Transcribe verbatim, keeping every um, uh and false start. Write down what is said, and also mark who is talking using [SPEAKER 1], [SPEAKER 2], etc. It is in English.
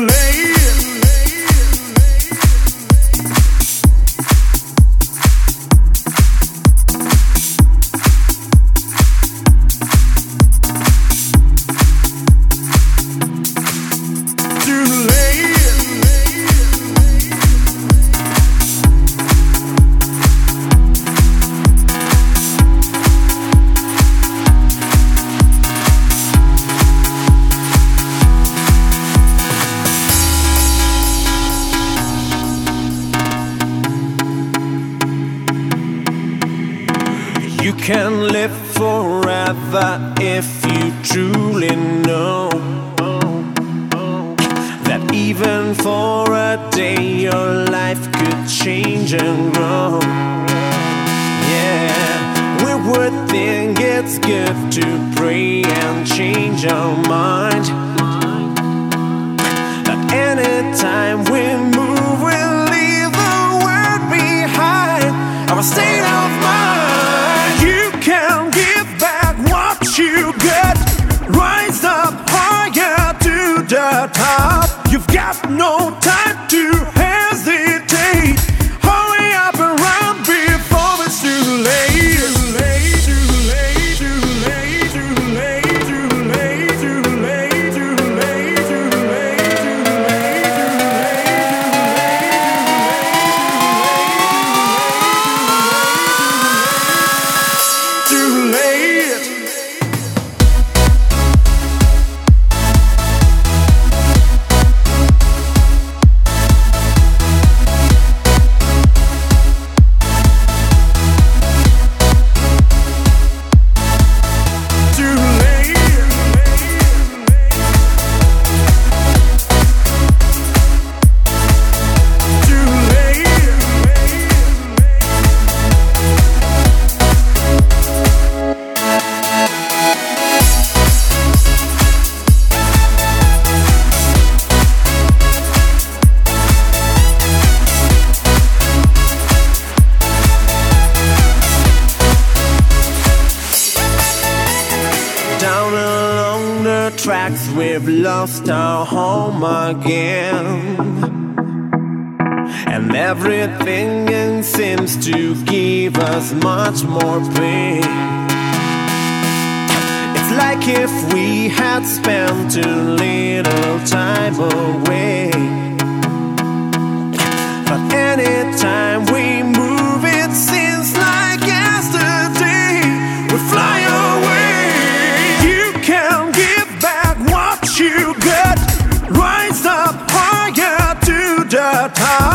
[SPEAKER 1] You can live forever if you truly know that even for a day your life could change and grow. Yeah, we would think it's good to pray and change our mind, but anytime we move, we leave the world behind. Our state of mind. You get rise up higher to the top. You've got no time to hesitate. Hurry up and run before it's too late. Too late, too late, too late, too late, too late, too late, too late, too late, too late, too late. Down along the tracks, we've lost our home again, and everything seems to give us much more pain. It's like if we had spent too little time away, but anytime we move, it seems like yesterday. We fly away. You get rise up higher to the top.